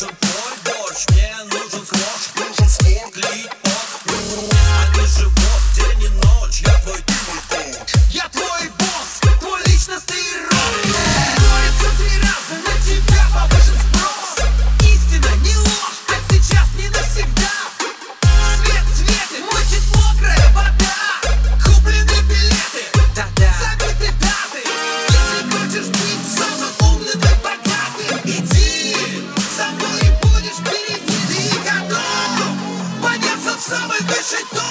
нужен твой борщ, мне нужен сквош, клип, а не живот, день и ночь. Я твой, ты мой коуч. Я твой босс, твой личностный рок. Борется 3 раза, на тебя повышен спрос. Истина, не ложь, а сейчас не навсегда. Свет, цветы, мочит мокрая вода. Куплены билеты, забиты даты. Если хочешь быть самым умным и богатым, иди со мной и будешь впереди. Ты готов подняться в самый высший топ.